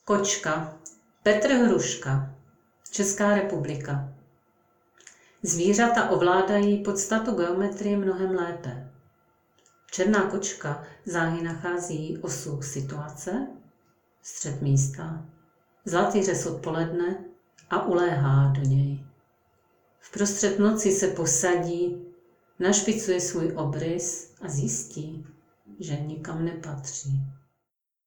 Kočka. Petr Hruška. Česká republika. Zvířata ovládají podstatu geometrie mnohem lépe. Černá kočka záhy nachází osu situace, střed místa, zlatý řez odpoledne a uléhá do něj. Vprostřed noci se posadí, našpicuje svůj obrys a zjistí, že nikam nepatří.